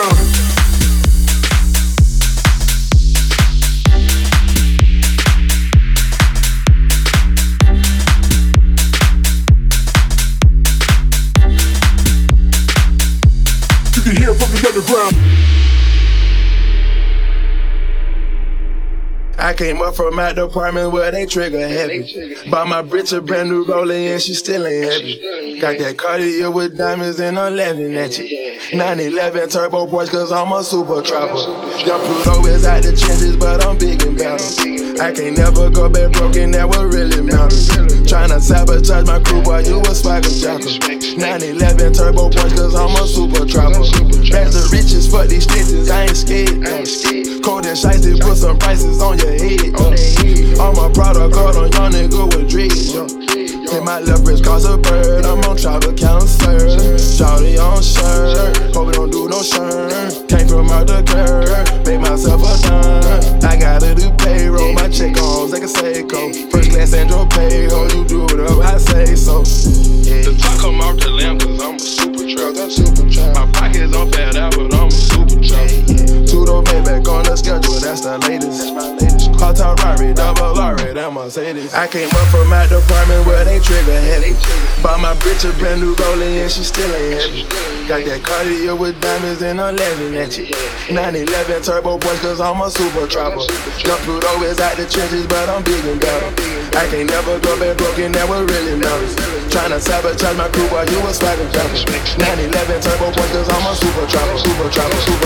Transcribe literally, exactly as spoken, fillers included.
You can hear from the underground. I came up from my department where they trigger heavy. Bought my bitch a brand new roller and she still ain't heavy. Got that Cartier with diamonds and I'm laughing at you. nine eleven turbo boys cause I'm a super trapper. Young Pluto is out the trenches but I'm big and better. I can't never go back broken, that what really matters. Tryna sabotage my crew, boy, you a swagger jacker. nine eleven turbo boys cause I'm a super trapper. Bags of riches, fuck these stitches, I ain't scared. Cold and shiesty, put some prices on your head. Uh. All my product card on young nigga with dreads. Uh. Hit my leverage cause a bird, I'm on travel cancer. Shawty on shirt, hope it don't do no shirt. Came from out the curb, made myself a dime. I gotta do payroll, my check on like a Seiko. First class Andro payroll, you do it up, I say so. Yeah. The top come off the lamp cause I'm a super truck. I'm super truck. My pockets on fat out, but I'm a super truck. Yeah, yeah. Two-door Maybach on the schedule, that's the latest. That's my latest. Cartel Rari, double R, that Mercedes. I came up from my department where they trigger heavy. Bought my bitch a brand new rolling and she still ain't heavy. Got that Cartier with diamonds and I'm laughing at you. nine eleven turbo boys cause I'm a super trapper. Young Pluto is out the trenches but I'm big and better. I can't never go back broken, that what really matters. Tryna sabotage my crew while you a swagger jumper. nine eleven turbo boys cause I'm a super trapper. Super trapper, super